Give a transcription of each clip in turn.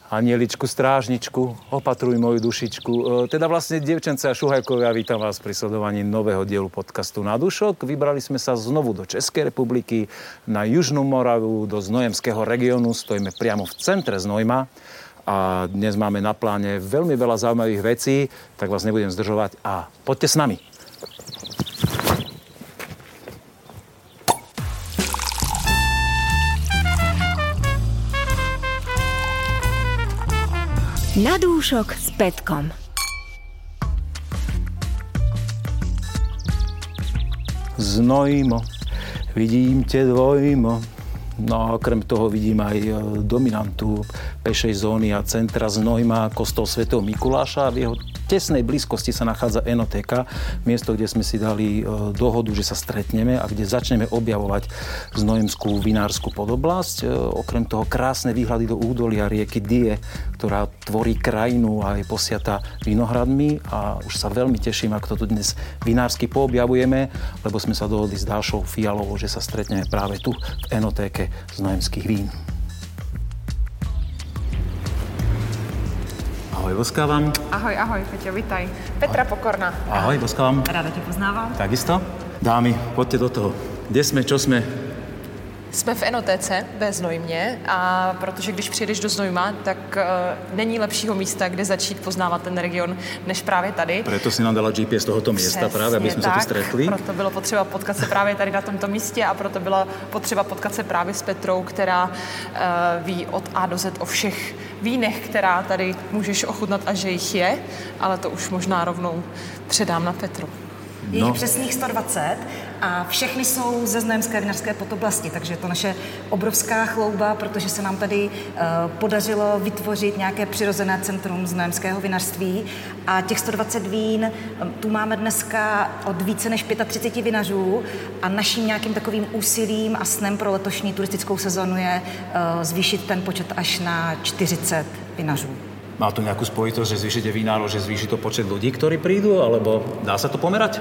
Anieličku, strážničku, opatruj moju dušičku. Teda vlastne, dievčence a šuhajkovia, vítam vás pri sledovaní nového dielu podcastu Na dušok. Vybrali sme sa znovu do Českej republiky, na Južnú Moravu, do Znojemského regiónu. Stojíme priamo v centre Znojma a dnes máme na pláne veľmi veľa zaujímavých vecí, tak vás nebudem zdržovať a poďte s nami. Na dúšok s Petkom. Znojmo, vidím te dvojmo. No a okrem toho vidím aj dominantu pešej zóny a centra Znojma, kostol svätého Mikuláša. A v jeho tesnej blízkosti sa nachádza Enotéka, miesto, kde sme si dali dohodu, že sa stretneme a kde začneme objavovať znojemskú vinárskú podoblasť. Okrem toho krásne výhľady do údolia rieky Die, ktorá tvorí krajinu a je posiata vinohradmi. A už sa veľmi teším, ak to tu dnes vinársky poobjavujeme, lebo sme sa dohodli s Dášou Fialovou, že sa stretneme práve tu v Enotéke znojemských vín. Ahoj, boskávam. Ahoj, Peťo, vitaj. Petra Pokorná. Ahoj, boskávam. Ráda tě poznávám. Takisto. Dámy, poďte do toho. Kde sme, čo sme? Jsme v Enotéce ve Znojmě a protože když přijedeš do Znojma, tak není lepšího místa, kde začít poznávat ten region, než právě tady. Preto si nám dala GPS tohoto miesta právě, aby jsme se tu stretli. Proto bylo potřeba potkat se právě tady na tomto místě a proto bylo potřeba potkat se právě s Petrou, která ví od A do Z o všech vínech, která tady můžeš ochutnat a že jich je, ale to už možná rovnou předám na Petru. Je jich přesných 120 a všechny jsou ze znojemské vinařské podoblasti, takže je to naše obrovská chlouba, protože se nám tady podařilo vytvořit nějaké přirozené centrum znojemského vinařství a těch 120 vín tu máme dneska od více než 35 vinařů a naším nějakým takovým úsilím a snem pro letošní turistickou sezonu je zvýšit ten počet až na 40 vinařů. Má to nejakú spojitosť, že zvýšite vinárov, že zvýši to počet ľudí, ktorí prídu, alebo dá sa to pomerať?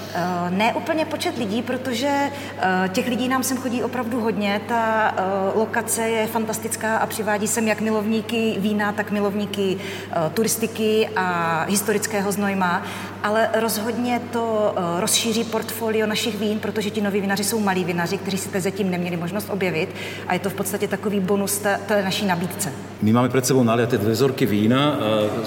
Ne úplně počet lidí, protože těch lidí nám sem chodí opravdu hodně. Ta lokace je fantastická a přivádí sem jak milovníky vína, tak milovníky turistiky a historického Znojma. Ale rozhodně to rozšíří portfolio našich vín, protože ti noví vinaři jsou malí vinaři, kteří si zatím neměli možnost objevit. A je to v podstatě takový bonus té naší nabídce. My máme pred sebou naliaté 2 vzorky vína.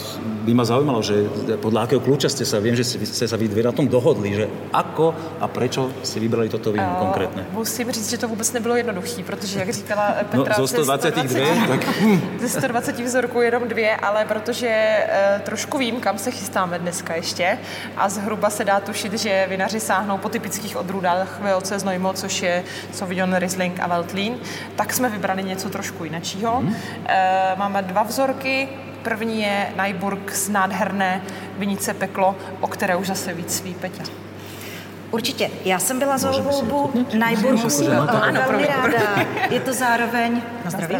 By ma zaujímalo, že podľa akého kľúča ste sa, viem, že ste sa vy dve na tom dohodli, že ako a prečo ste vybrali toto víno konkrétne? Musím říct, že to vůbec nebylo jednoduchý, protože, jak říkala Petra, zo 122, tak... ze 120 vzorků jenom 2, ale protože trošku vím, kam se chystáme dneska ještě a zhruba se dá tušit, že vinaři sáhnou po typických odrůdách VOC Znojmo, což je Sauvignon, Riesling a Veltlín, tak jsme vybrali něco trošku jinačího. Máme 2 vzorky. První je Najburg z nádherné vinice Peklo, o které už zase víc ví Peťa. Určitě. Já jsem byla za volbu Najburgu velmi ráda. Je to zároveň... Na zdraví.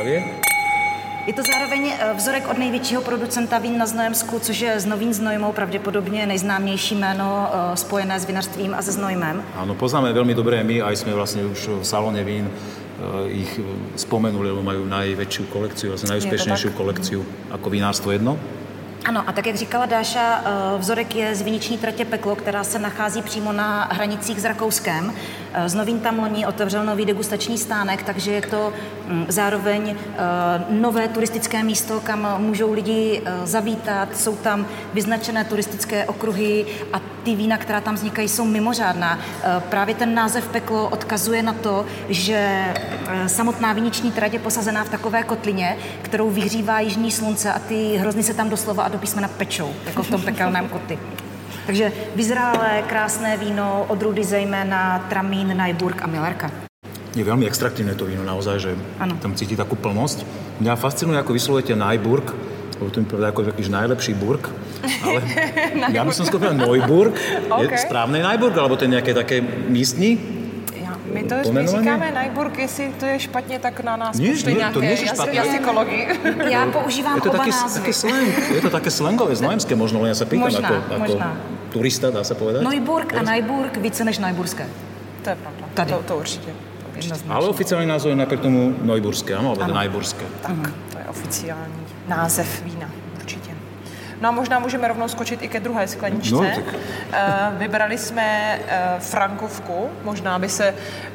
Je to zároveň vzorek od největšího producenta vín na Znojemsku, což je Znovín Znojmou, pravděpodobně nejznámější jméno spojené s vinařstvím a se Znojmem. Áno, poznáme veľmi dobre my, aj sme vlastne už v salóne vín ich spomenuli, lebo majú najväčšiu kolekciu, vlastne najúspešnejšiu kolekciu ako vinárstvo jedno. Ano, a tak, jak říkala Dáša, vzorek je z viniční tratě Peklo, která se nachází přímo na hranicích s Rakouskem. Znovín tam loni otevřel nový degustační stánek, takže je to zároveň nové turistické místo, kam můžou lidi zavítat. Jsou tam vyznačené turistické okruhy a ty vína, která tam vznikají, jsou mimořádná. Právě ten název Peklo odkazuje na to, že samotná viniční trať je posazená v takové kotlině, kterou vyhřívá jižní slunce a ty hrozny se tam doslova a do písmena pečou, jako v tom pekelném kotli. Takže vyzrálé, krásné víno, odrůdy zejména Tramín, Najburg a Millerka. Je veľmi extraktívne to víno, naozaj, že ano. Tam cíti takú plnosť. Mňa fascinuje, ako vyslovujete Najburg, lebo to mi povedal ako takýž najlepší burg, ale ja by som skôr povedal Neuburg. Okay. Je správne Najburg, alebo to je nejaké také místní? My to říkáme Najburg, jestli to je špatně, tak na nás pošli nějaké jazykologii. Já používám oba názvy. Je to také slangové, znojemské možno, len ja sa pýtam ako turista, dá sa povedať. Neuburg a Najburg více než Najburské. To je pravda, to určitě. Ale oficiálny názov je napriek tomu Neuburské, áno, alebo Najburské. Tak, to je oficiální název vína, určitě. No a možná můžeme rovnou skočit i ke druhé skleničce. No, tak. Vybrali jsme Frankovku, možná by se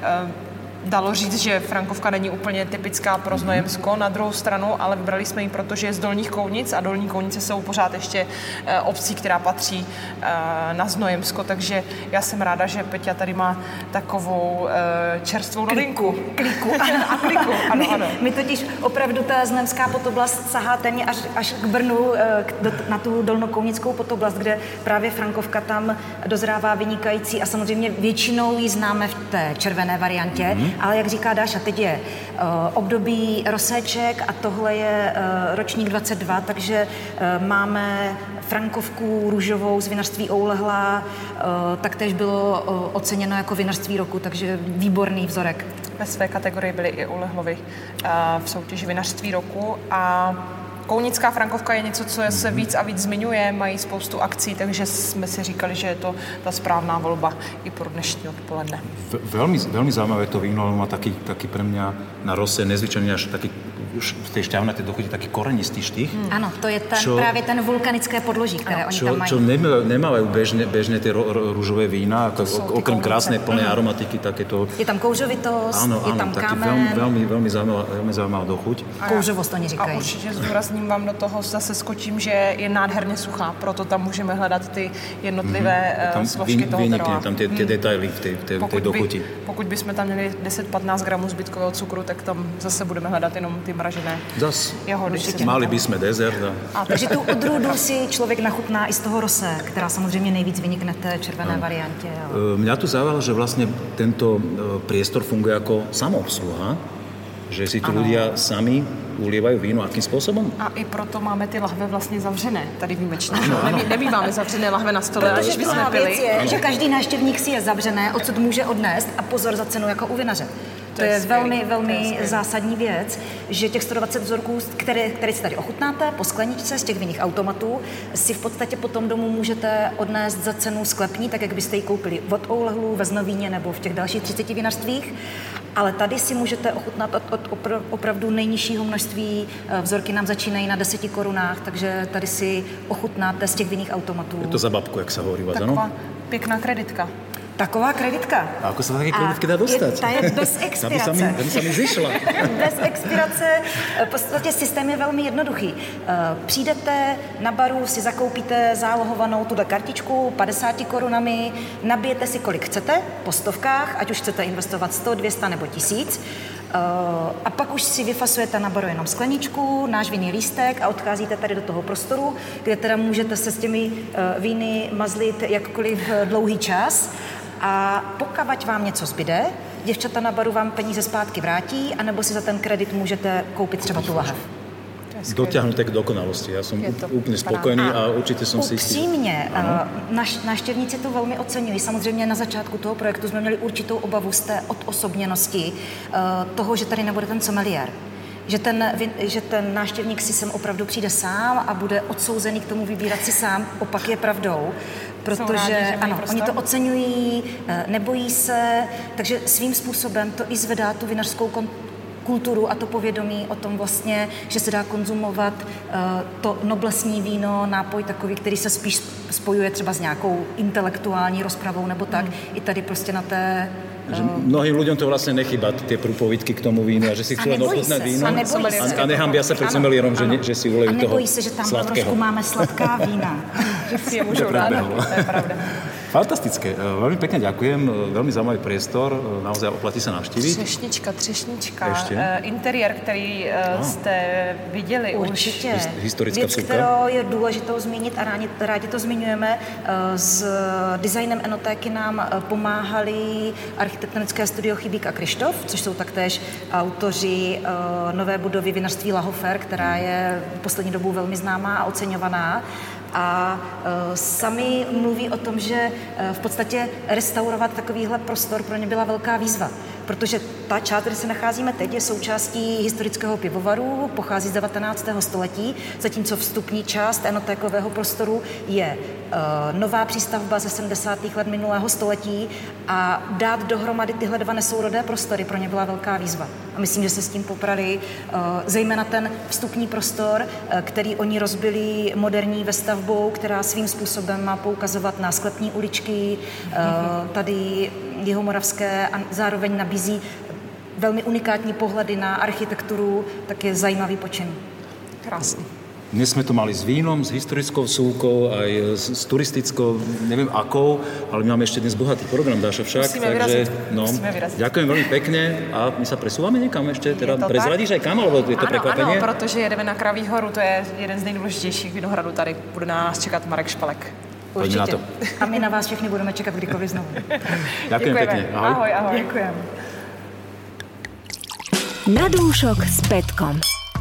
dalo říct, že Frankovka není úplně typická pro Znojemsko na druhou stranu, ale vybrali jsme ji, protože je z Dolních Kounic a Dolní Kounice jsou pořád ještě obcí, která patří na Znojemsko, takže já jsem ráda, že Peťa tady má takovou čerstvou novinku. Kliku. A kliku, ano. My totiž opravdu ta znojemská Podoblast sahá téměř až k Brnu, na tu dolnokounickou Podoblast, kde právě Frankovka tam dozrává vynikající a samozřejmě většinou ji známe v té červené variantě, ale jak říká Dáša, teď je období roséček a tohle je ročník 22, takže máme Frankovku růžovou z vinařství Oulehla, taktéž bylo oceněno jako vinařství roku, takže výborný vzorek. Ve své kategorii byly i Oulehlovi v soutěži vinařství roku a Kounická Frankovka je něco, co se víc a víc zmiňuje, mají spoustu akcí, takže jsme si říkali, že je to ta správná volba i pro dnešní odpoledne. Veľmi zaujímavé to víno, má taký pre mňa na rose nezvyčajný až taký už v tej šťavnatej dochuti taký korenistý štých. Ano, to je právě ten vulkanické podloží, které oni tam mají. Čo nemávajú bežne tie rúžové vína, okrem krásnej plnej aromatiky, takéto... Je tam kouřovitost, je tam kámen. Veľmi zaujímavá dochuť. Kouřovost oni říkají. A určitě zdůrazním vám do toho, zase skočím, že je nádherně suchá, proto tam můžeme hledat ty jednotlivé složky toho teroáru. Tam tie detaily v tej dochuti. Pokud bychom tam měli 10-15 gramů zbytkového cukru, tak tam zase budeme hledat jenom ty mražené jahody. Mali by sme dezert. Takže tu odrůdu si člověk nachutná i z toho rosé, která samozřejmě nejvíc vynikne v té červené variantě. Ale... Mňa tu zaujalo, že vlastne tento priestor funguje ako samoobsluha, že si tu ľudia sami ulievajú víno, akým spôsobom? A i proto máme ty lahve vlastně zavřené, tady výjimečně. Nebýváme zavřené lahve na stole, ale když bychom pili. Je, že každý návštěvník si je zavřené, odsud může odnést a pozor za cenu jako u vinaře. To je velmi zásadní věc, že těch 120 vzorků, které si tady ochutnáte po skleničce z těch vinných automatů, si v podstatě potom domů můžete odnést za cenu sklepní, tak jak byste ji koupili od Oulehlu, ve Znovíně nebo v těch dalších 30 vinařstvích. Ale tady si můžete ochutnat od opravdu nejnižšího množství. Vzorky nám začínají na 10 korunách, takže tady si ochutnáte z těch vinných automatů. Je to za babku, jak se hovorí, ano? Taková pěkná kreditka. Taková kreditka. A ako sa také kreditky dá dostať? Ta je bez expirace. Ta by sa mi zišla. Bez expirace. V podstatě systém je velmi jednoduchý. Přijdete na baru, si zakoupíte zálohovanou tuhle kartičku 50 korunami, nabijete si kolik chcete po stovkách, ať už chcete investovat 100, 200 nebo 1000. A pak už si vyfasujete na baru jenom skleničku, náš vinný lístek a odcházíte tady do toho prostoru, kde teda můžete se s těmi víny mazlit jakkoliv dlouhý čas. A pokud vám něco zbyde, děvčata na baru vám peníze zpátky vrátí, anebo si za ten kredit můžete koupit třeba tu lahev. Dotiahnuté k dokonalosti. Ja som úplne spokojný a určite som si istý. Upřímně, návštěvníci to velmi oceňují. Samozřejmě na začátku toho projektu jsme měli určitou obavu z té odosobněnosti toho, že tady nebude ten sommelier. Že ten návštěvník si sem opravdu přijde sám a bude odsouzený k tomu vybírat si sám. Opak je pravdou. Protože ano, oni to oceňují, nebojí se, takže svým způsobem to i zvedá tu vinařskou kulturu a to povědomí o tom vlastně, že se dá konzumovat to noblesní víno, nápoj takový, který se spíš spojuje třeba s nějakou intelektuální rozpravou nebo tak. I tady prostě na té... Mnohým ľuďom to vlastne nechýba, tie prúpovidky k tomu vínu a že si chcú len ochutnať víno a nehambia sa pred sommeliérom, že si ulejú toho sladkého. A nebojí se, že tam v máme sladká vína. Že si je môžu rád, to je pravda. Fantastické. Veľmi pekne ďakujem. Veľmi zaujímavý priestor. Naozaj oplatí sa navštíviť. Třešnička. Interiér, který jste viděli určitě. Historická vsuvka. Kterou je důležitou zmínit a rádi to zmiňujeme. S designem enotéky nám pomáhali architektonické studio Chybík a Krištof, což jsou taktéž autoři nové budovy vinařství Lahofer, která je v poslední dobou velmi známá a oceňovaná. A sami mluví o tom, že v podstatě restaurovat takovýhle prostor pro ně byla velká výzva. protože ta část, kde se nacházíme teď, je součástí historického pivovaru, pochází z 19. století, zatímco vstupní část enotékového prostoru je nová přístavba ze 70. let minulého století a dát dohromady tyhle dva nesourodé prostory pro ně byla velká výzva. A myslím, že se s tím poprali zejména ten vstupní prostor, který oni rozbili moderní vestavbou, která svým způsobem má poukazovat na sklepní uličky, tady jihomoravské a zároveň nabízí velmi unikátní pohledy na architekturu, tak je zajímavý počin. Krásný. Dnes sme to mali s vínom, s historickou súkou, aj s turistickou, neviem akou, ale my máme ešte dnes bohatý program, Dáša, však. Musíme vyraziť. Ďakujem veľmi pekne a my sa presúvame niekam ešte, teda prezradíš aj kam, alebo je to prekvapenie? Ano, protože jedeme na Kraví horu, to je jeden z nejdůležitějších vinohradů tady. Bude na nás čekat Marek Špalek. Určite. Na to. A my na vás všechny budeme čekat kdykoliv znovu. Ďakujem pekne. Ahoj. Ďakujem. Na dúšok s Petkom.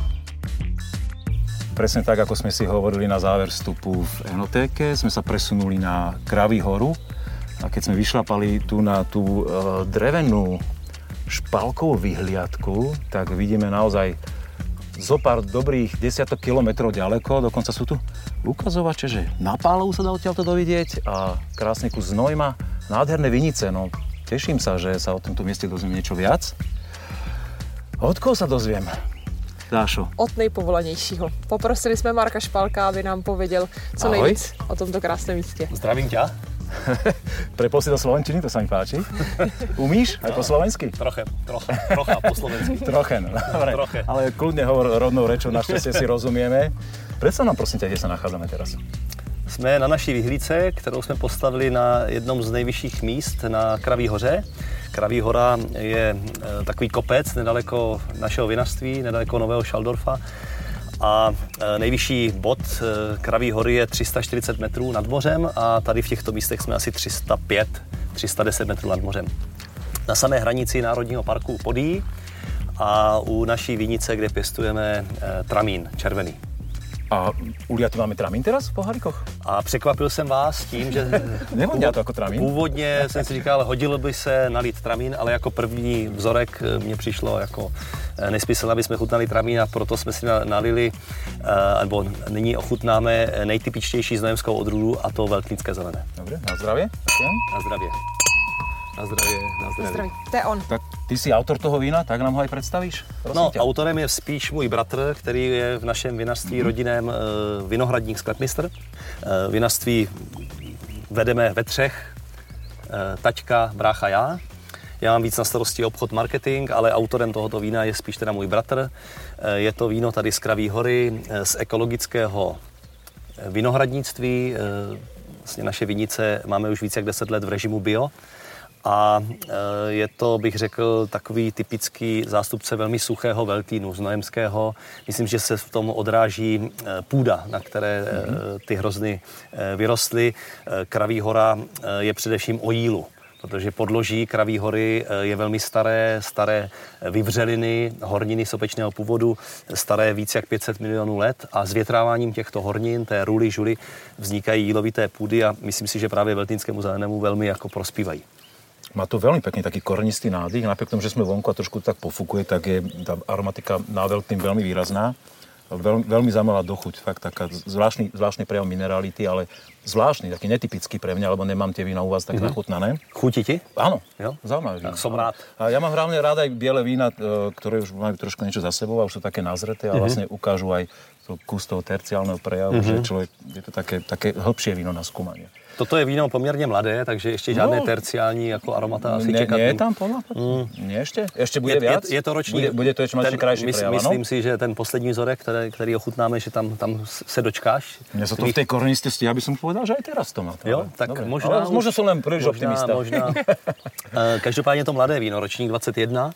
Presne tak, ako sme si hovorili na záver vstupu v enotéke, sme sa presunuli na Kraví horu a keď sme vyšlapali tu na tú drevenú špalkovú vyhliadku, tak vidíme naozaj zo pár dobrých 10 kilometrov ďaleko, dokonca sú tu ukazovače, že na Pálovu sa dá odtiaľto dovidieť a krásny kus Znojma, nádherné vinice, no teším sa, že sa o tomto mieste dozviem niečo viac. Od koho sa dozviem? Dášo. Od nejpovolanějšího. Poprosili jsme Marka Špalka, aby nám pověděl co nejvíc o tomto krásném místě. Zdravím ťa. Prepol si do slovenčiny, to sa mi páči. Umíš aj po slovensky? Trocha po slovensky. Trochen, dobre. Ale kľudne hovor rodnou rečou, našťastie si rozumieme. Predstav nám prosím ťa, kde sa nachádzame teraz. Jsme na naší vyhlídce, kterou jsme postavili na jednom z nejvyšších míst na Kraví hoře. Kraví hora je takový kopec nedaleko našeho vinařství, nedaleko Nového Šaldorfa. A nejvyšší bod Kraví hory je 340 metrů nad mořem a tady v těchto místech jsme asi 310 metrů nad mořem. Na samé hranici Národního parku Podyjí a u naší vinice, kde pěstujeme tramín červený. A uliatý máme tramín teraz v pohárikoch? A překvapil jsem vás tím, že Nevonia to jako tramín? Původně jsem si říkal, hodilo by se nalít tramín, ale jako první vzorek mně přišlo jako nesmysl, aby jsme chutnali tramín a proto jsme si nalili, nebo nyní ochutnáme nejtypičtější znojemskou odrůdu a to velknické zelené. Dobre, na zdravie. Na zdravě. Na zdraví. To je on. Tak ty si autor toho vína, tak nám ho aj predstavíš? No, autorem je spíš můj bratr, který je v našem vinařství rodinném vinohradník sklepmistr. Vinařství vedeme ve třech, taťka, brácha, já. Já mám víc na starosti obchod, marketing, ale autorem tohoto vína je spíš teda můj bratr. Je to víno tady z Kraví hory, z ekologického vinohradnictví. Vlastně naše vinice máme už více jak 10 let v režimu bio. A je to, bych řekl, takový typický zástupce velmi suchého veltlínu, znojemského. Myslím, že se v tom odráží půda, na které ty hrozny vyrostly. Kraví hora je především o jílu, protože podloží Kraví hory je velmi staré vyvřeliny, horniny sopečného původu, staré více jak 500 milionů let a s větráváním těchto hornin, té ruly, žuly, vznikají jílovité půdy a myslím si, že právě veltlínskému zelenému velmi jako prospívají. Má to veľmi pekný taký korenistý nádych, napriek tomu, že sme vonku a trošku tak pofúkuje, tak je tá aromatika na veľtým veľmi výrazná. Veľmi zaujímavá dochuť, fakt taká zvláštny prejav minerality, ale zvláštny, taký netypický pre mňa, lebo nemám tie vína u vás tak nachutnané. Chutí ti? Áno, jo? Zaujímavé vína. Tak som rád. A ja mám hlavne rád aj biele vína, ktoré už majú trošku niečo za sebou a už sú také nazreté a vlastne ukážu aj kus toho terciálneho prejavu, že človek, je to také hĺbšie víno na skúmanie. Toto je víno poměrně mladé, takže ještě žádné terciální jako aromata asi čekat. Nie je tam podľa? Nie ešte? Ešte bude viac? Je to ročník. Bude to ešte mať krajší prejav, myslím si, že ten poslední vzorek, který ochutnáme, že tam se dočkáš. Mňa sa to v tej korenistosti, ja by som povedal, že aj teraz to má. Jo, tak dobre. možná som len príliš optimista. Možná. Každopádně to mladé víno, ročník 21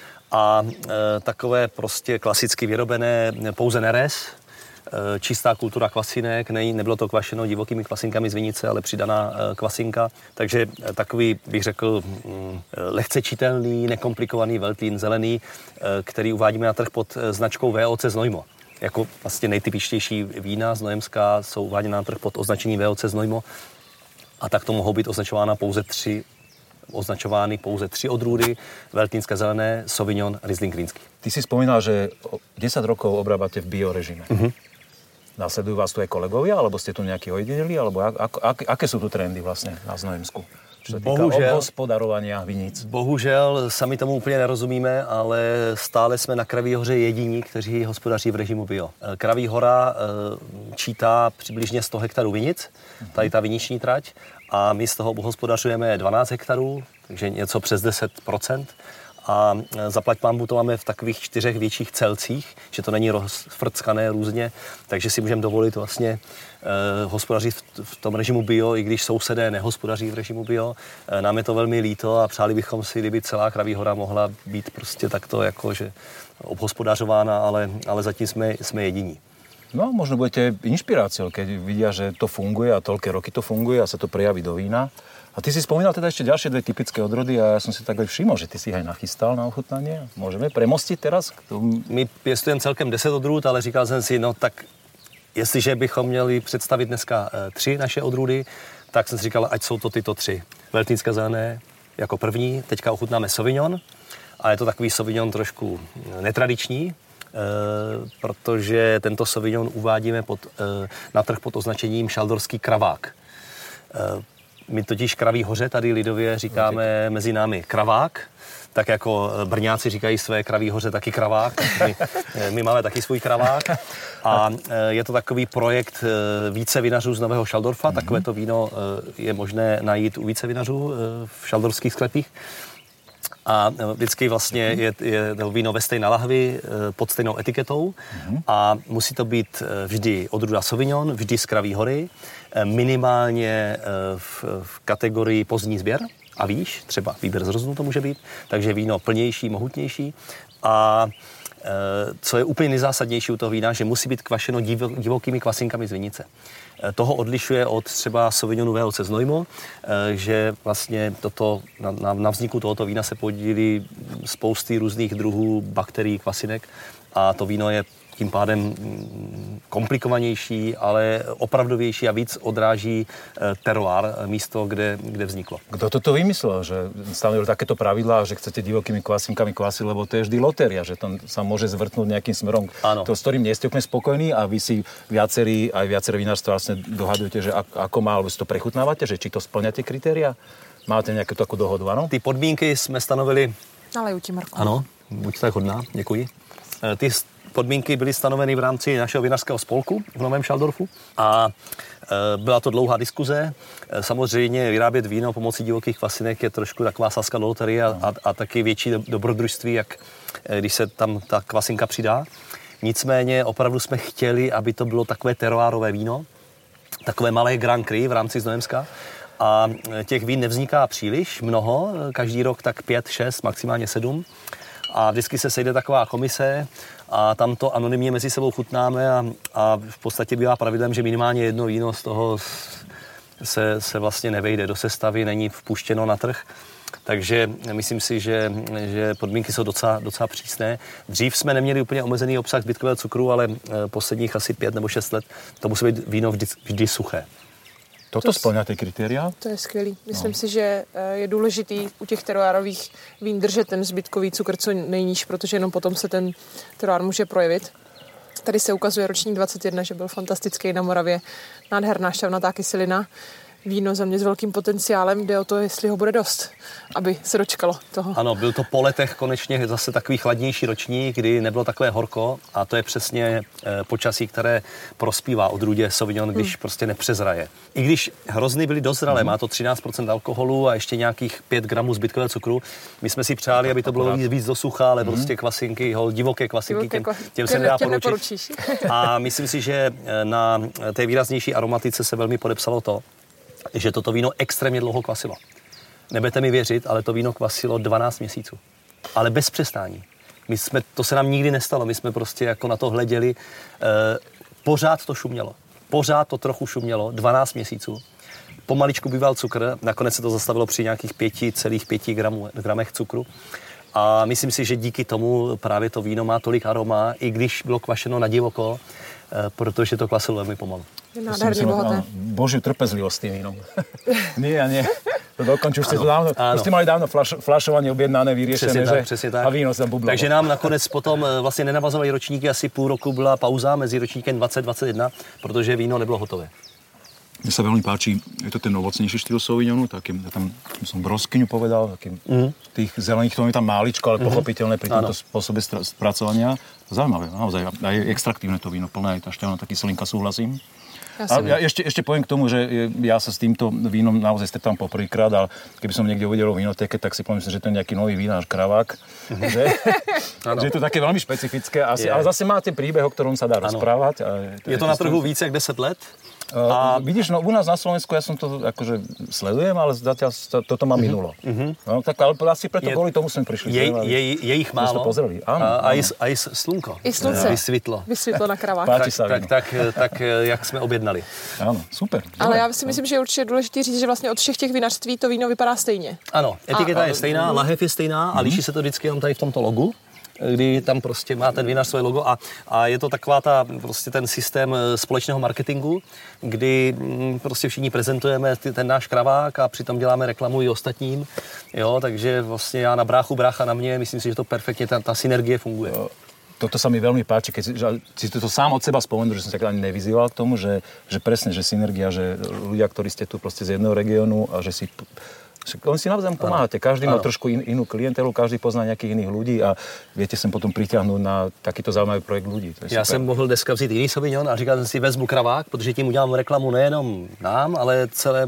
a takové prostě klasicky vyrobené pouze nerez. Čistá kultura kvasinek, nebylo to kvašeno divokými kvasinkami z vinice, ale přidaná kvasinka. Takže takový, bych řekl, lehce čitelný, nekomplikovaný veltlín zelený, který uvádíme na trh pod značkou VOC Znojmo. Jako vlastně nejtypičtější vína znojemská jsou uváděna na trh pod označením VOC Znojmo a tak to mohou být označována pouze 3 označovány pouze 3 odrůdy, Veltlínské zelené, Sauvignon, Riesling rýnsky. Ty si spomínal, že 10 rokov obrábate v biorežime. Nasledujú vás tu aj kolegovia, alebo ste tu nejakí ojedineli, alebo aké sú tu trendy vlastne na Znojemsku? Čo sa týka obhospodarovania viníc. Bohužel sami tomu úplně nerozumíme, ale stále jsme na Kraví hoře jediní, kteří hospodaří v režimu bio. Kraví hora čítá přibližně 100 hektarů vinic, tady ta viniční trať, a my z toho hospodařujeme 12 hektarů, takže něco přes 10%. A zaplať pánbu to máme v takových 4 větších celcích, že to není rozfrckané různě, takže si můžeme dovolit vlastně hospodařit v tom režimu bio, i když sousedé nehospodaří v režimu bio. Nám je to velmi líto a přáli bychom si, kdyby celá Kraví hora mohla být prostě takto jakože obhospodařována, ale zatím jsme jediní. No, možno budete inšpiráciou, keď vidia, že to funguje a toľké roky to funguje a sa to prejaví do vína. A ty si spomínal teda ešte ďalšie 2 typické odrody a ja som si tak aj všimol, že ty si ich aj nachystal na ochutnanie. Môžeme premostiť teraz? My pěstujeme celkem 10 odrůd, ale říkal jsem si, no tak jestliže bychom měli představit dneska 3 naše odrůdy, tak jsem si říkal, ať jsou to tyto 3. Veltlínské zelené jako první, teďka ochutnáme Sauvignon a je to takový Sauvignon trošku netradiční, protože tento Sauvignon uvádíme na trh pod označením šaldorský kravák. My totiž Kraví hoře tady lidově říkáme mezi námi kravák, tak jako Brňáci říkají své Kraví hoře taky kravák, my máme taky svůj kravák. A je to takový projekt více vinařů z Nového Šaldorfa, takovéto víno je možné najít u více vinařů v šaldorských sklepích. A vždycky vlastně je to víno ve stejné lahvi pod stejnou etiketou a musí to být vždy odrůda Sauvignon, vždy z Kraví hory, minimálně v kategorii pozdní sběr a výš, třeba výběr z rozunu to může být, takže víno plnější, mohutnější a co je úplně nejzásadnější u toho vína, že musí být kvašeno divokými kvasinkami z vinice. Toho odlišuje od třeba Sauvignonu VLC Znojmo, že vlastně na vzniku tohoto vína se podílí spousty různých druhů bakterií, kvasinek a to víno je tím pádem komplikovanější, ale opravdovější a víc odráží teroár, místo, kde vzniklo. Kto toto vymyslel, že stanovil takéto pravidlá, že chcete divokými kvasinkami kvasiť, lebo to je vždy lotéria, že tam sa môže zvrtnúť nejakým smerom, to, s ktorým nie ste úplne spokojní a vy si viaceré vinárstva vlastne dohadujete, že ako má, alebo si to prechutnávate, že či to splňate kritéria? Máte nejakú takú dohodu, áno? Ty podmínky jsme stanovili... Naleju ti, Marko. Ano, buď tak hodná, děkuji. Ty podmínky byly stanoveny v rámci našeho vinařského spolku v Novém Šaldorfu a byla to dlouhá diskuze. Samozřejmě vyrábět víno pomocí divokých kvasinek je trošku taková sázka do loterie a taky větší dobrodružství, jak když se tam ta kvasinka přidá. Nicméně opravdu jsme chtěli, aby to bylo takové teroárové víno, takové malé Grand Cru v rámci Znojemska. A těch vín nevzniká příliš mnoho, každý rok tak 5, 6, maximálně 7. A vždycky se sejde taková komise a tam to anonymně mezi sebou chutnáme a v podstatě bývá pravidlem, že minimálně jedno víno z toho se vlastně nevejde do sestavy, není vpuštěno na trh. Takže myslím si, že podmínky jsou docela přísné. Dřív jsme neměli úplně omezený obsah zbytkového cukru, ale posledních asi 5 nebo 6 let to musí být víno vždy suché. Toto splňá ty kritéria? To je skvělý. Myslím si, že je důležitý u těch teroárových vín držet ten zbytkový cukr co nejníž, protože jenom potom se ten teroár může projevit. Tady se ukazuje ročník 21, že byl fantastický na Moravě. Nádherná šťavnatá kyselina. Víno za mě s velkým potenciálem, jde o to, jestli ho bude dost, aby se dočkalo toho. Ano, byl to po letech konečně zase takový chladnější ročník, kdy nebylo takové horko a to je přesně počasí, které prospívá odrůdě Sauvignon, když prostě nepřezraje. I když hrozny byly dozralé, má to 13% alkoholu a ještě nějakých 5 gramů zbytkového cukru. My jsme si přáli, aby to bylo víc do sucha, ale prostě kvasinky, divoké kvasinky, těm se nedá poručit. A myslím si, že na té výraznější aromatice se velmi podepsalo to, že toto víno extrémně dlouho kvasilo. Nebudete mi věřit, ale to víno kvasilo 12 měsíců. Ale bez přestání. To se nám nikdy nestalo. My jsme prostě jako na to hleděli. Pořád to šumělo. Pořád to trochu šumělo. 12 měsíců. Pomaličku býval cukr. Nakonec se to zastavilo při nějakých 5,5 gramech cukru. A myslím si, že díky tomu právě to víno má tolik aroma, i když bylo kvašeno na divoko, protože to kvasilo velmi pomalu. Nádherně bohaté. Božiu trpezlivosť s tým vínom. Nie. dokončí, už ste to dávno, už ste mali dávno flašovanie objednané, vyriešené, přesně tak. A víno sa bublalo. Takže nám nakonec potom vlastně nenavazovali ročníky, asi půl roku byla pauza mezi ročníkem 2021, protože víno nebylo hotové. Mne sa veľmi páči, je to ten ovocnejší štýl Sauvignonu, takým, ja tam som broskyňu povedal, takým tých zelených, to je tam máličko, ale pochopiteľné pri tomto spôsobe spracovania. Zaujímavé, naozaj. A je extraktívne to víno, plné aj tá šťavná, taký kyselinka, súhlasím. Ja ešte poviem k tomu, že ja sa s týmto vínom naozaj stretám poprvýkrát, ale keby som niekde uvidel v vínotéke, tak si pomyslím, že to je nejaký nový vínář Kravák. Že je to také veľmi špecifické, ale zase máte príbeh, o ktorom sa dá rozprávať. Je to na trhu více jak 10 let? A vidíš, no u nás na Slovensku ja som to akože sledujem, ale zatiaľ toto má minulo. No, tak ale asi preto kvôli tomu sme prišli. Je ich málo. A i slunko. I slunce. Vysvětlo na Kravák. Tak jak jsme objednali. Ano, super. Ale já si myslím, že je určitě důležité říct, že vlastně od všech těch vinařství to víno vypadá stejně. Ano, etiketa je stejná, lahev je stejná a liší se to vždycky jenom tady v tomto logu, kdy tam prostě má ten vinař svoje logo a je to taková prostě ten systém společného marketingu, kdy prostě všichni prezentujeme ten náš Kravák a přitom děláme reklamu i ostatním, jo, takže vlastně já na bráchu, brácha na mě, myslím si, že to perfektně, ta synergie funguje. Toto sa mi veľmi páči, keď si to sám od seba spomenul, že som sa ani nevyzýval k tomu, že presne, že synergia, že ľudia, ktorí ste tu proste z jedného regiónu a že si oni si navzájom pomáhate. Každý má trošku inú klientelu, každý pozná nejakých iných ľudí a viete sem potom pritiahnuť na takýto zaujímavý projekt ľudí. Já jsem mohl dneska vzít jiný Sauvignon a říkal jsem si, vezmu Kravák, protože tím udělám reklamu nejenom nám, ale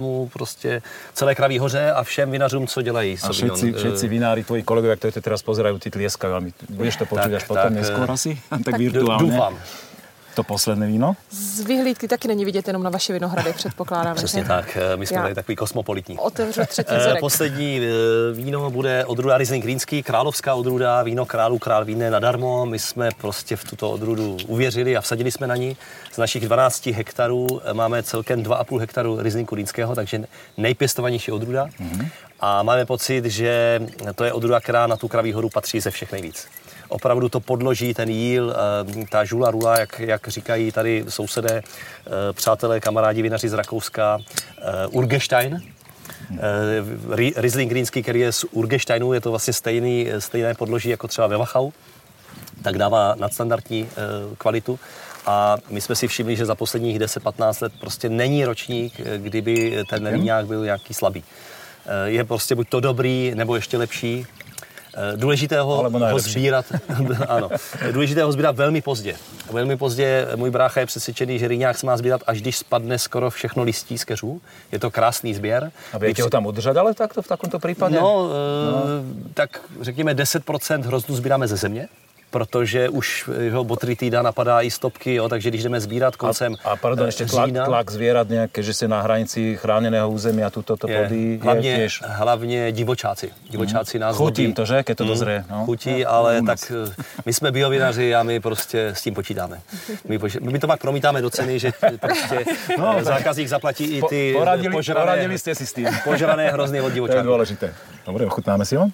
celé Kraví hoře a všem vinařům, co dělají Sauvignon. A všetci vinári, tvoji kolegovia, ktorí to teraz pozerajú, ty tlieskajú. Budeš to počuť až potom neskôr asi? Tak virtuálne. Doufám. To posledné víno? Z vyhlídky taky není vidět jenom na vaše vinohrady, předpokládám. Přesně tak, my jsme tady takový kosmopolitní. Otevřu třetí vzorek. Poslední víno bude odrůda Riesling Rýnský, královská odrůda, víno králů, král víne nadarmo. My jsme prostě v tuto odrůdu uvěřili a vsadili jsme na ní. Z našich 12 hektarů máme celkem 2,5 hektaru Rieslingu Rýnského, takže nejpěstovanější odrůda. A máme pocit, že to je odrůda, která na tu Kraví horu patří ze všech nejvíc. Opravdu to podloží, ten jíl, ta žula rula, jak říkají tady sousedé, přátelé, kamarádi, vinaři z Rakouska, Urgestein. Riesling Rýnský, který je z Urgesteinu, je to vlastně stejné podloží jako třeba ve Wachau, tak dává nadstandardní kvalitu. A my jsme si všimli, že za posledních 10-15 let prostě není ročník, kdyby ten víňák byl nějaký slabý. Je prostě buď to dobrý, nebo ještě lepší. Důležité ho sbírat velmi pozdě. Velmi pozdě můj brácha je přesvědčený, že rýňák se má sbírat, až když spadne skoro všechno listí z keřů. Je to krásný sběr. A viete ho tam udržať, ale takto v takomto prípade? Tak řekněme 10% hroznů sbíráme ze země, protože už botrytida napadá i stopky, jo, takže když jdeme sbírat koncem pardon, ešte tlak zvierat nejaké, že ste na hranici chráneného územia, tuto plody je tiež. Hlavně divočáci. Divočáci nás chutí to, že? Keď to dozrie. No. Chutí, ale tak my jsme biovinaři a my prostě s tím počítáme. My to pak promítáme do ceny, že prostě zákazník zaplatí i ty poradili ste si s tým. Požrané hrozny od divočáků. To je dôležité. Dobre, ochutnáme si ho?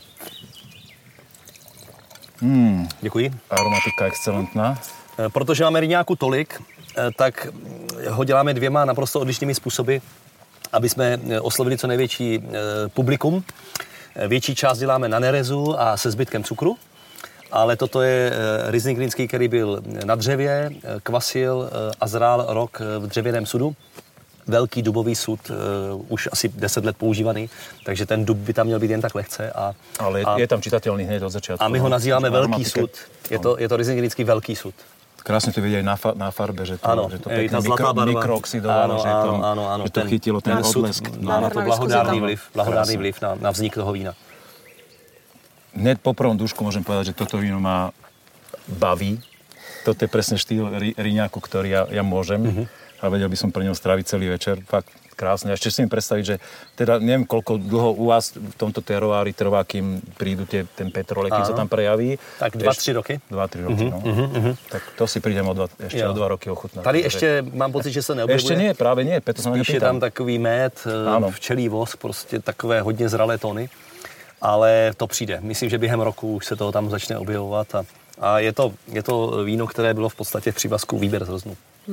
Děkuji. Aromatika excelentná. Protože máme rýňáku tolik, tak ho děláme dvěma naprosto odlišnými způsoby, aby jsme oslovili co největší publikum. Větší část děláme na nerezu a se zbytkem cukru, ale toto je Riesling Rýnský, který byl na dřevě, kvasil a zrál rok v dřevěném sudu. Velký dubový sud, už asi 10 let používaný, takže ten dub by tam měl být jen tak lehce. Ale je tam čitatelný hned od začátku. A my ho nazýváme velký sud. Je to Riesling Rýnský velký sud. Krásne to vidieť aj na farbe, že to, ano, že to pekne mikrooxidovalo, že to chytilo ten odlesk. Má to blahodárný vliv na vznik toho vína. Hned po prvom dúšku môžem povedať, že toto víno ma baví. Toto je presne štýl rýňáku, ktorý ja môžem. A vedel by som pre ňom stráviť celý večer. Fakt krásne. Ešte si mi predstaviť, že teda neviem, koľko dlho u vás v tomto teroári trvá, kým prídu ten petrolej, kým sa tam prejaví. Tak 2-3 roky. 2-3 roky, no. Tak to si prídem ešte o 2 roky ochutnať. Tady ešte mám pocit, že sa neobjevuje. Ešte nie, práve nie. Spíš je tam takový med, včelí vosk, prostě takové hodně zralé tóny. Ale to přijde. Myslím, že během roku už se toho tam začne objevovat. A je to víno, které bylo v podstatě v přívazku výběr z hroznů.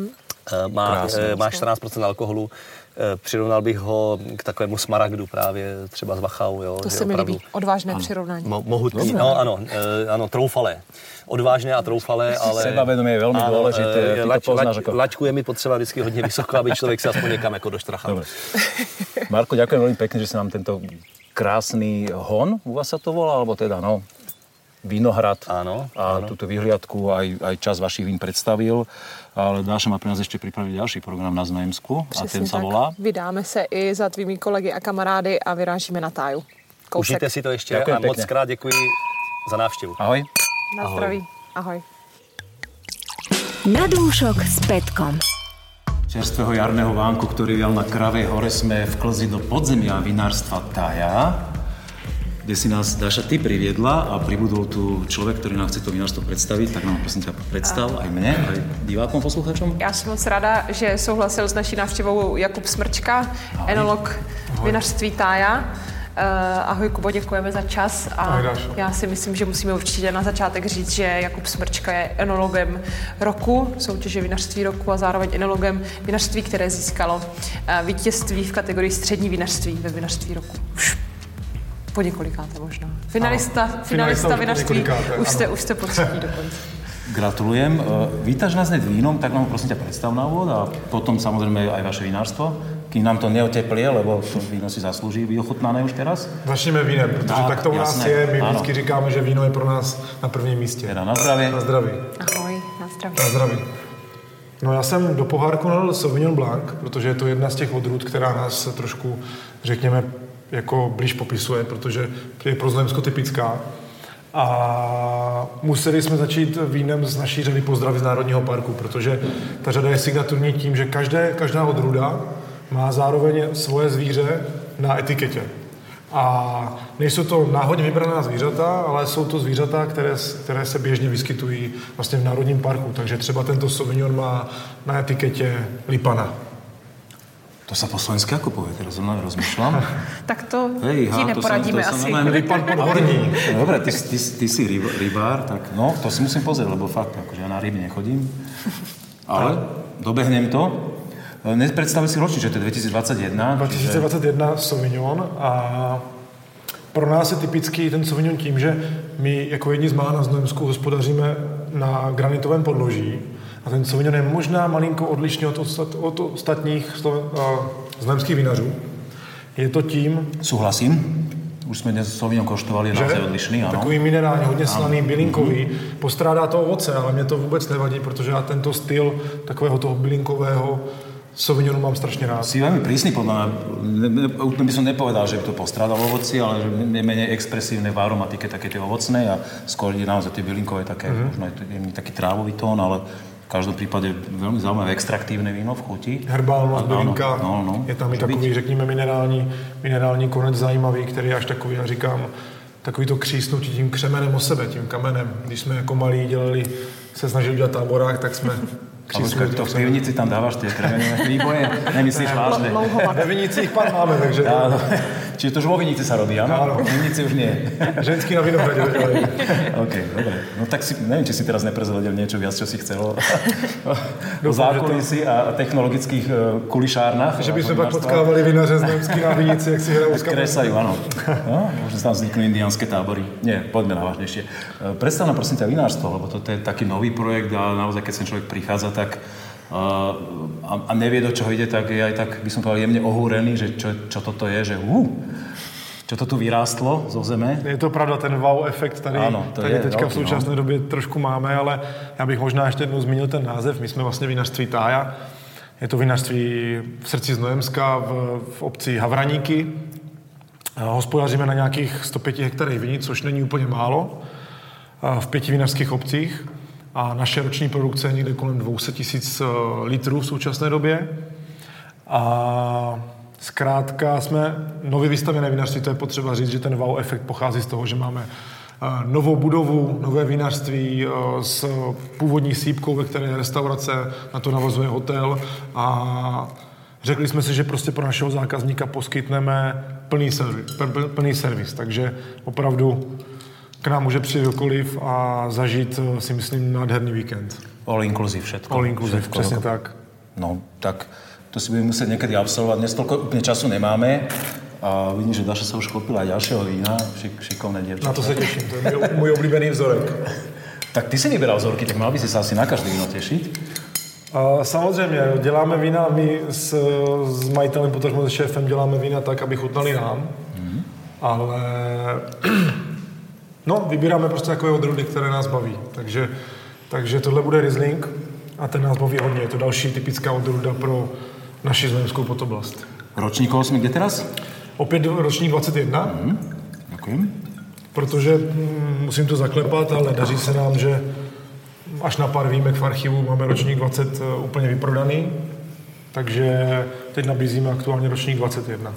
Má 14% alkoholu. Přirovnal bych ho k takovému smaragdu právě třeba z Wachau. Jo, to se mi líbí. Odvážné přirovnání. Mohutný, no ano, troufalé. Odvážné a troufalé, ale... Sebavedomie je velmi důležité. Laťku je mi potřeba vždycky hodně vysoko, aby člověk se aspoň někam jako doštrachal. Marko, ďakujem veľmi pekne, že si nám tento krásny hon, u vás sa to volá, alebo teda, Vinohrad áno. Túto vyhliadku aj čas vašich vín predstavil. Ale Dáša má pre nás ešte pripraviť ďalší program na Znojemsku a ten sa volá... Vydáme se i za tvými kolegy a kamarády a vyrážíme na Táju. Kousek. Užijte si to ještě Ďakujem a moc krát děkuji za návštěvu. Ahoj. Na zdraví. Ahoj. Na dúšok s Petkom. Čerstvého jarného vánku, ktorý vial na Kravej hore, sme vklzli do podzemia vinárstva Tája, kde si nás, Dáša, ty priviedla a pribudol tu človek, ktorý nám chce to vinárstvo predstaviť, tak nám prosím ťa predstav aj mne, aj divákom, posluchačom. Já jsem moc ráda, že souhlasil s naší návštěvou Jakub Smrčka, enolog vinařství Tája. Ahoj Kubo, děkujeme za čas a já si myslím, že musíme určitě na začátek říct, že Jakub Smrčka je enologem roku, soutěže vinařství roku a zároveň enologem vinařství, které získalo vítězství v kategorii střední vinařství ve vinařství roku. Už po několikáté možná. Finalista vinařství, už jste po třetí dokonce. Gratulujem. Vítaš nás hned vínom, tak nám prosím ťa predstav na úvod a potom samozrejme aj vaše vinárstvo. Kým nám to neoteplie, lebo to víno si zaslúži byť ochutnané už teraz. Začneme vínem, protože tak to u nás je. My vždycky říkáme, že víno je pro nás na prvním místě. Teda na zdraví. Na zdraví. Ahoj, na zdraví. Na zdraví. No já jsem do pohárku nalil Sauvignon Blanc, protože je to jedna z těch odrůd, která nás trošku, řekněme, jako blíž popisuje, protože je pro Znojemsko typická. A museli jsme začít vínem z naší řady Pozdravy z Národního parku, protože ta řada je signaturní tím, že každá odrůda má zároveň svoje zvíře na etiketě. A nejsou to náhodně vybraná zvířata, ale jsou to zvířata, které se běžně vyskytují vlastně v Národním parku. Takže třeba tento Sauvignon má na etiketě lipana. To sa po slovensky ako povie, teraz zrovna rozmýšľam. Tak to ti neporadíme asi. Lipan podhorní. Dobre, ty si rybár, tak to si musím pozrieť, lebo fakt, akože ja na ryby nechodím. Ale dobehnem to. Nepredstavil si ročník, že to je 2021. 2021 Sauvignon a pro nás je typický ten Sauvignon tím, že my jako jedni z mála na Znojemsku hospodaříme na granitovém podloží. A ten Sauvignon je možná malinko odlišný od ostatních znojemských vinařů. Je to tím... Súhlasím. Už jsme dnes Sauvignon koštovali, je naozaj odlišný, ano. Takový minerální, hodně slaný, bylinkový. Postrádá to ovoce, ale mě to vůbec nevadí, protože já tento styl takového toho bylinkového Sauvignonu mám strašně rád. Si veľmi prísny, podľa mňa. Úplne by som nepovedal, že by to postrádalo ovoci, ale že je menej expresívne v aromatike také tie ovocné a skôr je naozaj tie bylinkové také, možno je taký trávový tón, ale v každom prípade veľmi zaujímavé extraktívne víno v chuti. Herbálna bylinka, je tam i takový, řekněme, minerální konec zajímavý, který je až takový, já říkám, takový to křísnutí tím křemenem o sebe, tím kamenem. Když jsme jako malí se snažili dělat táborák, tak jsme křísnuli. To v pivnici tam dáváš tie kremenové výboje, nemyslíš vážne? Ve vinicích pán máme, takže... Čiže to už vo vinici sa robí, áno? V vinici už nie. Ženský na vinohrade. OK, dobre. No tak neviem, či si teraz neprezradil niečo viac, čo si chcel o zákulisí a technologických kulišárnach. Že by sme pak potkávali vinaře znojemský na vinici, jak si hrajú s kamerou. Kresajú, áno. Možno tam vzniknú indiánske tábory. Nie, poďme na vážnejšie. Predstav nám prosím ťa vinárstvo, lebo to je taký nový projekt a naozaj, keď sem človek prichádza, tak a nevie, do čoho ide, tak je aj tak, by som povedal, jemne ohúrený, že čo toto je, že čo to tu vyrástlo zo zeme. Je to pravda, ten wow efekt tady teďka v současné době trošku máme, ale já bych možná ještě jednou zmínil ten název. My jsme vlastně vinařství Tája. Je to vinařství v srdci Znojemska v obci Havraníky. Hospodaříme na nějakých 105 hektarech vinic, což není úplně málo, v 5 vinařských obcích. A naše roční produkce je někde kolem 200 000 litrů v současné době. A zkrátka jsme nově vystavěné vinařství, to je potřeba říct, že ten wow efekt pochází z toho, že máme novou budovu, nové vinařství s původní sýpkou, ve které je restaurace, na to navazuje hotel a řekli jsme si, že prostě pro našeho zákazníka poskytneme plný servis, takže opravdu k nám může přijít kdokoliv a zažít, si myslím, nádherný víkend. All inclusive všetko. All inclusive, přesně tak. No, tak to si budeme musieť niekedy absolvovať. Dnes toľko úplne času nemáme. A vidím, že Dáša sa už chopila aj ďalšieho vína. Šikovné dievčatá. Na to se těším, to je můj oblíbený vzorek. Tak ty si vyberal vzorky, tak mal by si sa asi na každé víno tešiť. Samozřejmě, děláme vína, my s majitelem, potažmo se šéfem děláme vína tak, aby chutnali nám. Ale no, vybíráme prostě takové odrůdy, které nás baví. Takže tohle bude Riesling a ten nás baví hodně. Je to další typická odrůda pro naši znojemskou podoblast. Ročníkov jsme kde teraz? Opět ročník 21. Děkuji. Protože musím to zaklepat, ale daří se nám, že až na pár výjimek v archivu máme ročník 20 úplně vyprodaný. Takže teď nabízíme aktuálně ročník 21.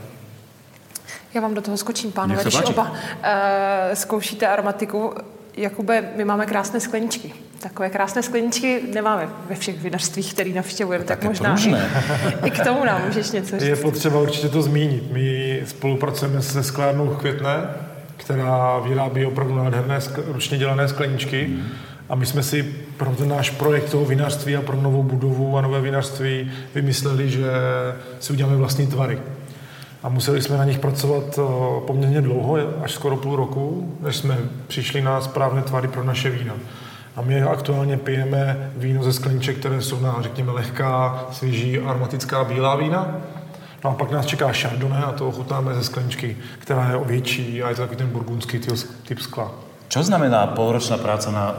Já vám do toho skočím, pánové, když oba zkoušíte aromatiku. Jakube, my máme krásné skleničky. Takové krásné skleničky nemáme ve všech vinařstvích, který navštěvujeme, tak možná i k tomu nám můžeš něco říct. Je potřeba určitě to zmínit. My spolupracujeme se sklárnou Květné, která vyrábí opravdu nádherné ručně dělané skleničky. A my jsme si pro ten náš projekt toho vinařství a pro novou budovu a nové vinařství vymysleli, že si uděláme vlastní tvary. A museli jsme na nich pracovat poměrně dlouho, až skoro půl roku, než jsme přišli na správné tvary pro naše vína. A my aktuálně pijeme víno ze skleniček, které jsou na, řekněme, lehká, svěží, aromatická bílá vína. No a pak nás čeká Chardonnay a to ochutnáme ze skleničky, která je větší a je to takový ten burgundský typ skla. Čo znamená polročná práca na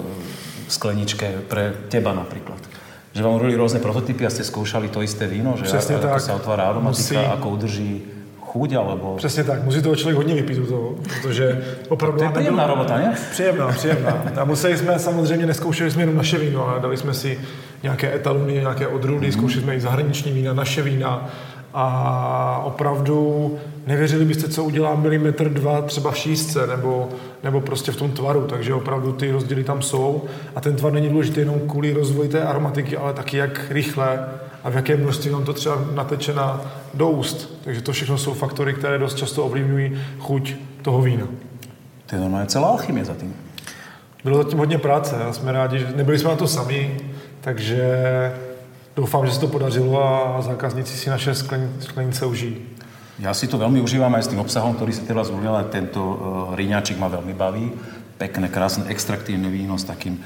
skleničke pre teba napríklad? Že vám urobili rôzne prototypy a ste skúšali to isté víno, že ako sa otvára aromatika, ako udrží chuť, alebo... Přesně tak, musí toho člověk hodně vypít u toho, protože opravdu... To je príjemná robota, ne? Příjemná. A museli jsme, samozřejmě neskoušeli jsme jenom naše víno, ale dali jsme si nějaké etalony, nějaké odrůdy, zkoušeli jsme i zahraniční vína, naše vína a opravdu nevěřili byste, co udělá milimetr, dva třeba v šířce nebo prostě v tom tvaru, takže opravdu ty rozdíly tam jsou a ten tvar není důležitý jenom kvůli rozvoji té aromatiky, ale taky jak rychle a v jaké množství nám to třeba nateče do úst. Takže to všechno jsou faktory, které dost často ovlivňují chuť toho vína. To je normálně celá alchymie za tím. Bylo zatím hodně práce a jsme rádi, že nebyli jsme na to sami, takže doufám, že se to podařilo a zákazníci si naše sklenice užijí. Ja si to veľmi užívam aj s tým obsahom, ktorý si teraz zvolil, ale tento riňačik ma veľmi baví. Pekné, krásne, extraktívne víno s takým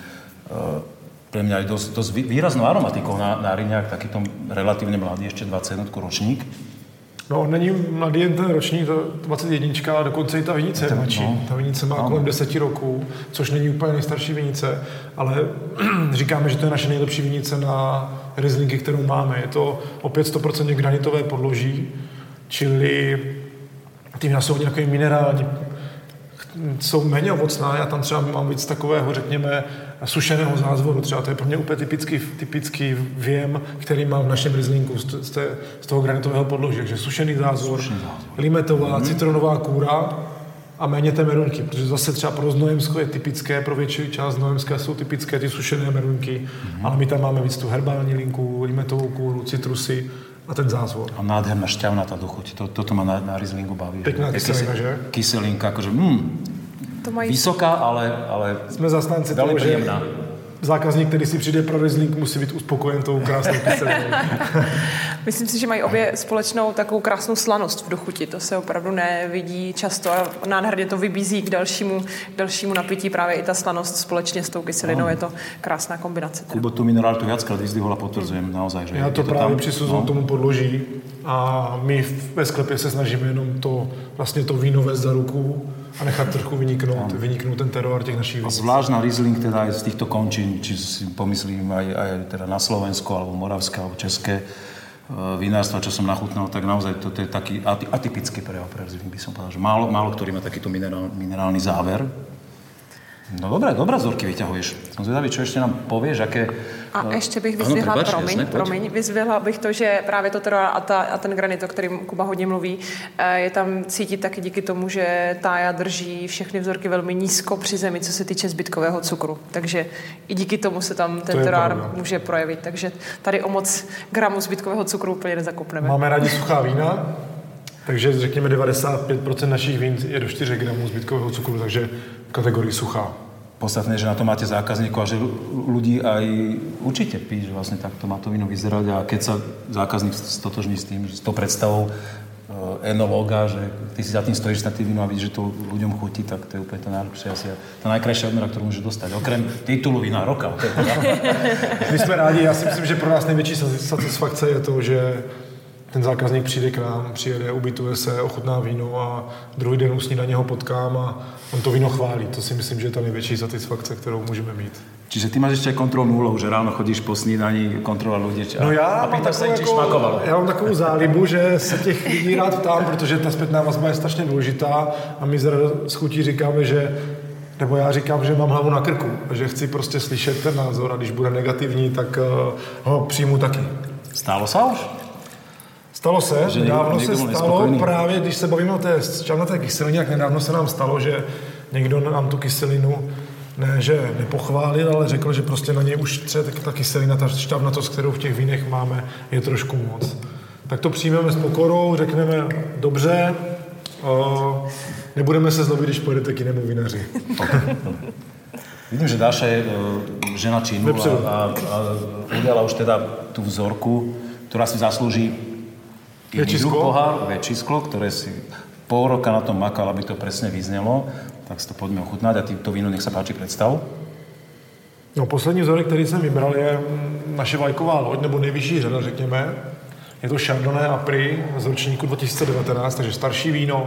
pre mňa aj dosť výraznou aromatikou na riňák, takýto relatívne mladý, ešte 21 ročník. No, není mladý jen ten ročník, to 21, ale dokonce i ta vinice je mladší. No. Ta vinice má kolem 10 roků, což není úplně nejstarší vinice, ale říkáme, že to je naše nejlepší vinice na Rieslingy, kterou máme. Je to opět 100% granitové podloží, čili ty vína jsou nějaké minerální, jsou méně ovocná, já tam třeba mám víc takového, řekněme, sušeného zázvoru, třeba to je pro mě úplně typický věm, který mám v našem Rieslingu z toho granitového podloží, takže sušený zázvor, limetová, citronová kůra a méně té merunky, protože zase třeba pro Znojemsko je typické, pro větší část Znojemska jsou typické ty sušené merunky, ale my tam máme víc tu herbální linku, limetovou kůru, citrusy a ten zázvor. A nádherná šťavnatá dochuť. Toto ma na Rieslingu baví. Pekná kyselina, že? Kyselinka, akože vysoká, ale jsme zastánci toho, že zákazník, který si přijde pro Riesling, musí být uspokojen tou krásnou kyselinou. Myslím si, že mají obě společnou takovou krásnou slanost v dochuti. To se opravdu nevidí často a nádherně to vybízí k dalšímu napití. Právě i ta slanost společně s tou kyselinou je to krásná kombinace. Kubo tu mineralitu viackrát vyzdvihol a potvrdzujem naozaj, že já to právě přisuzuju tomu podloží a my ve sklepě se snažíme jenom to víno vést za ruku a nechat trochu vyniknout ten teroár těch našich vinic. A zvlášť na Riesling teda aj z týchto končín, či si pomyslím aj teda na Slovensko, alebo moravské, alebo české vinárstva, čo som nachutnal, tak naozaj to je taký atypický prejav pre Riesling, by som povedal, že málo ktorý má takýto minerálny záver. No dobré vzorky vyťahuješ. Som zvedavý, čo ešte nám povieš, aké... A ještě bych vyzvihla, vyzvihla bych to, že právě to teroár a ten granit, o kterém Kuba hodně mluví, je tam cítit taky díky tomu, že Tája drží všechny vzorky velmi nízko při zemi, co se týče zbytkového cukru. Takže i díky tomu se tam ten teroár může projevit. Takže tady o moc gramů zbytkového cukru úplně nezakopneme. Máme rádi suchá vína, takže řekněme 95% našich vín je do 4 gramů zbytkového cukru, takže v kategorii suchá. podstatné, že na to máte zákazníkov a že ľudí aj určite piť, že vlastne takto má to víno vyzerať a keď sa zákazník stotožní s tým, s tou predstavou enológa, že ty si za tým stojíš na tým víno a vidíš, že to ľuďom chutí, tak to je úplne to najlepšie asi tá najkrajšia odmena, ktorú môže dostať. Okrem titulu vína roka. My jsme rádi, já si myslím, že pro nás největší satisfakce je to, že ten zákazník přijde k nám, přijede, ubytuje se, ochutná víno a druhý den u snídaně ho potkám a on to víno chválí. To si myslím, že je ta největší satisfakce, kterou můžeme mít. Čiže ty máš ešte aj kontrolnú úlohu, že ráno chodíš po snídaní, kontrolovať ľudí a pýtaš sa im, či šmakovalo. Já mám takovou zálibu, že se těch lidí rád ptám, protože ta zpětná vazba je strašně důležitá a my s chutí říkáme, že nebo já říkám, že mám hlavu na krku, že chci prostě slyšet ten názor a když bude negativní, tak ho přijmu taky. Stalo sa už? Stalo se, nedávno se stalo, právě když se bavíme o té šťavnaté kyselině, jak nedávno se nám stalo, že někdo nám tu kyselinu ne, že nepochválil, ale řekl, že prostě na něj už třeba ta kyselina, ta šťavnatost, kterou v těch vínech máme, je trošku moc. Tak to přijmeme s pokorou, řekneme dobře, nebudeme se zlobit, když pojedete k jinému vinaři. Vidím, že Dáša je žena činu a udiala už teda tú vzorku, ktorá si zaslúži väčší sklo, ktoré si pol roka na tom makal, aby to presne vyznelo. Tak si to poďme ochutnať a to víno nech sa páči predstav. No, poslední vzorek, který jsem vybral, je naše vlajková loď, nebo nejvyšší řada, řekněme. Je to Chardonnay a Prix z ročníku 2019, takže starší víno.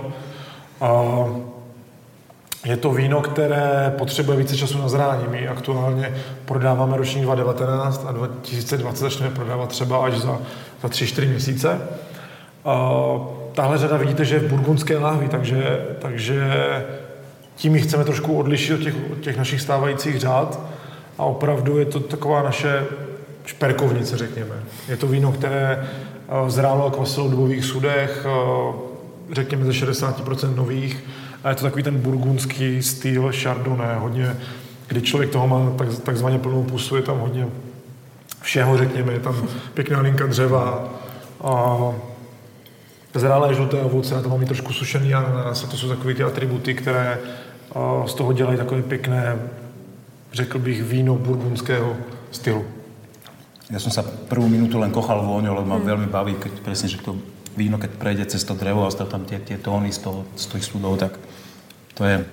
Je to víno, které potřebuje více času na zrání. My aktuálně prodáváme ročník 2019 a 2020 začneme prodávat třeba až za 3-4 měsíce. Tahle řada vidíte, že je v burgundské láhvi, takže tím ji chceme trošku odlišit od těch našich stávajících řád a opravdu je to taková naše šperkovnice, řekněme. Je to víno, které zrálo a kvasilo v dubových sudech, řekněme ze 60% nových, a je to takový ten burgundský styl Chardonnay, hodně, kdy člověk toho má takzvaně plnou pusu, je tam hodně všeho, řekněme, je tam pěkná linka dřeva, zrálé žluté ovoce, tam mám i trošku sušený ananas, a to jsou takové ty atributy, které z toho dělají takové pěkné, řekl bych, víno burgundského stylu. Ja som sa prvú minútu len kochal vôňou, lebo ma veľmi baví, keď presne, že to víno, keď prejde cez to drevo a stále tam tie tóny z tých súdov, tak to je...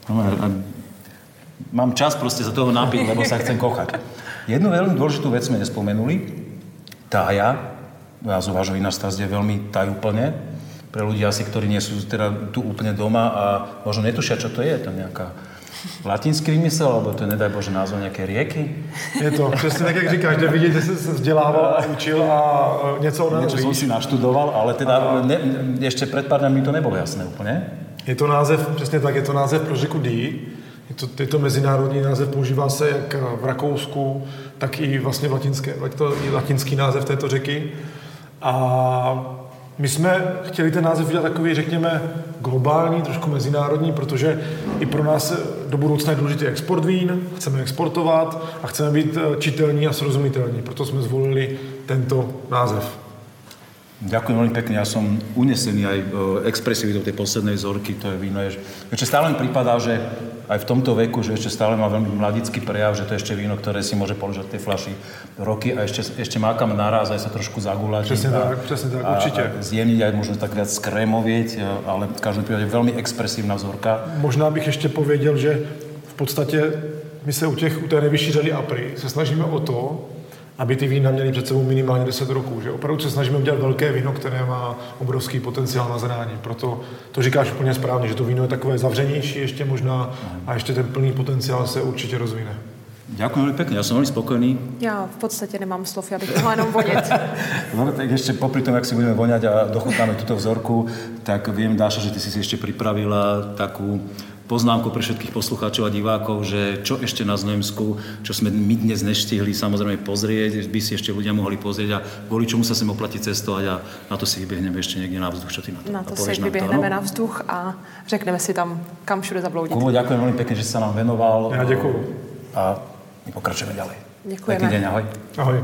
Mám čas proste za toho napiť, lebo sa chcem kochať. Jednu veľmi dôležitú vec sme nespomenuli. Tája, názov vášho vinárstva je veľmi tajúplne. Pre ľudí asi, ktorí nie sú teda tu úplne doma a možno netušia, čo to je. To nejaká latinský vymysel, alebo to je, nedaj Bože, názov nejaké rieky? Je to přesně tak, jak říkáš, že vidíte, že se vzdělával a učil a něco o nás víš. Niečo som si naštudoval, ale teda ešte pred pár dňami mi to nebolo jasné úplne. Je to název, přesně tak, je to název pro řeku Dee. Je to mezinárodní název, používá se jak v Rakousku, tak i vlastně latinský název této řeky. A my jsme chtěli ten název udělat takový, řekněme, globální, trošku mezinárodní, protože i pro nás do budoucna je důležitý export vín, chceme exportovat a chceme být čitelní a srozumitelní. Proto jsme zvolili tento název. Ďakujem veľmi pekne, ja som unesený aj expresivitou tej poslednej vzorky, to je víno. Ešte stále mi prípadá, že aj v tomto veku, že ešte stále má veľmi mladický prejav, že to je ešte víno, ktoré si môže položiť v tej fľaši roky a ešte má kam naraz, aj sa trošku zagulačiť. Presne tak, určite. A zjemniť aj možno tak viac skrémovieť, ale v každom prípade veľmi expresívna vzorka. Možná bych ešte povedal, že v podstate my sa u té nejvyšší řady Apri se snažíme o to, aby ty vína měly před sebou minimálně 10 roků. Že opravdu se snažíme udělat velké víno, které má obrovský potenciál na zrání. Proto to říkáš úplně správně, že to víno je takové zavřenější ještě možná a ještě ten plný potenciál se určitě rozvine. Ďakujem veľmi pekne, ja som veľmi spokojný. Ja v podstate nemám slov, ja bych mohla jenom voňať. No tak ešte popri tom, ak si budeme voňať a dochutnáme túto vzorku, tak viem, Dáša, že ty si ešte pripravila takú poznámku pre všetkých poslucháčov a divákov, že čo ešte na Znojemsku, čo sme my dnes neštihli samozrejme pozrieť, by si ešte ľudia mohli pozrieť a kvôli čomu sa sem oplatí cestovať a na to si vybehneme ešte niekde na vzduch. Čo ty na to? Na to si vyběhneme na vzduch a řekneme si tam, kam všude zabloudit. Kubo, ďakujem veľmi pekne, že si sa nám venoval. Ja ďakujem. A my pokračujeme ďalej. Ďakujeme. Pekný deň, ahoj. Ahoj.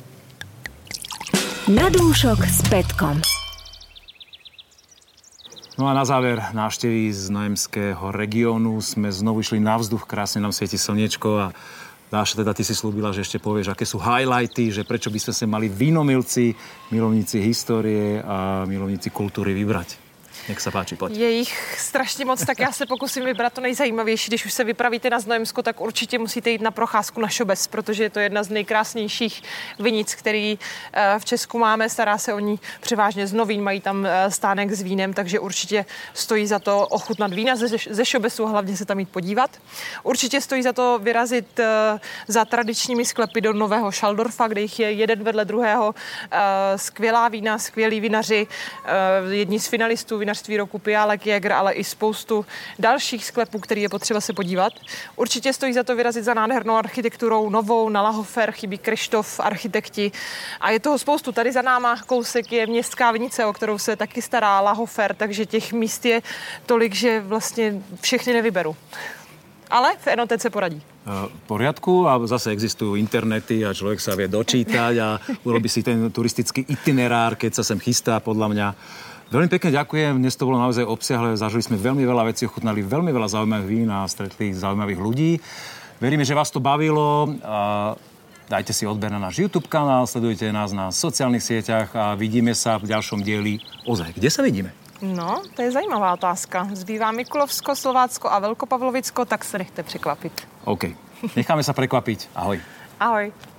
Na dúšok s Petkom. No a na záver návštevy z Znojemského regiónu sme znovu išli na vzduch, krásne nám svieti slniečko a Dáša, teda ty si slúbila, že ešte povieš, aké sú highlighty, že prečo by sme sa mali vínomilci, milovníci histórie a milovníci kultúry vybrať. Jak se páči, pojď. Je jich strašně moc, tak já se pokusím vybrat to nejzajímavější. Když už se vypravíte na Znojemsko, tak určitě musíte jít na procházku na Šobes, protože je to jedna z nejkrásnějších vinic, který v Česku máme. Stará se o ní převážně z Novín, mají tam stánek s vínem, takže určitě stojí za to ochutnat vína ze Šobesu a hlavně se tam jít podívat. Určitě stojí za to vyrazit za tradičními sklepy do Nového Šaldorfa, kde jich je jeden vedle druhého. Skvělá vína, skvělí vinaři, jedni z finalistů vinařství roku Piálek, Jäger, ale i spoustu dalších sklepů, který je potřeba se podívat. Určitě stojí za to vyrazit za nádhernou architekturou novou na Lahofer, chybí Kryštof, architekti a je toho spoustu. Tady za náma kousek je městská vinice, o kterou se taky stará Lahofer, takže těch míst je tolik, že vlastně všechny nevyberu. Ale v Enotece poradí. V poriadku a zase existujú internety a človek sa vie dočítať a urobí si ten turistický itinerár, keď sa sem chystá, podľa mňa. Veľmi pekne ďakujem, dnes to bolo naozaj obsiahle, zažili sme veľmi veľa vecí, ochutnali veľmi veľa zaujímavých vín a stretli zaujímavých ľudí. Veríme, že vás to bavilo. Dajte si odber na náš YouTube kanál, sledujte nás na sociálnych sieťach a vidíme sa v ďalšom dieli. Ozaj, kde sa vidíme? No, to je zajímavá otázka. Zbývá Mikulovsko, Slovácko a Velkopavlovicko, tak se nechte překvapit. OK. Necháme sa prekvapiť. Ahoj. Ahoj.